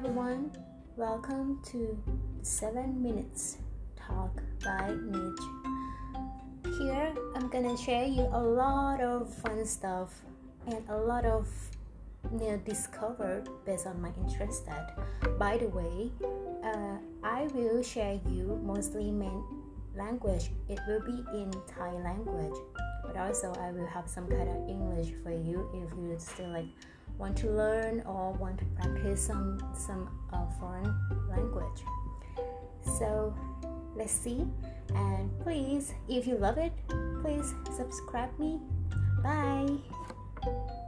everyone, welcome to 7 Minutes Talk by Niche. Here I'm gonna share you a lot of fun stuff and a lot of discovered based on my interest. By the way, I will share you mostly main language. It will be in Thai language, but also I will have some kind of English for you if you still want to learn or want to practice some foreign language. So let's see, and please, if you love it, please subscribe me. Bye.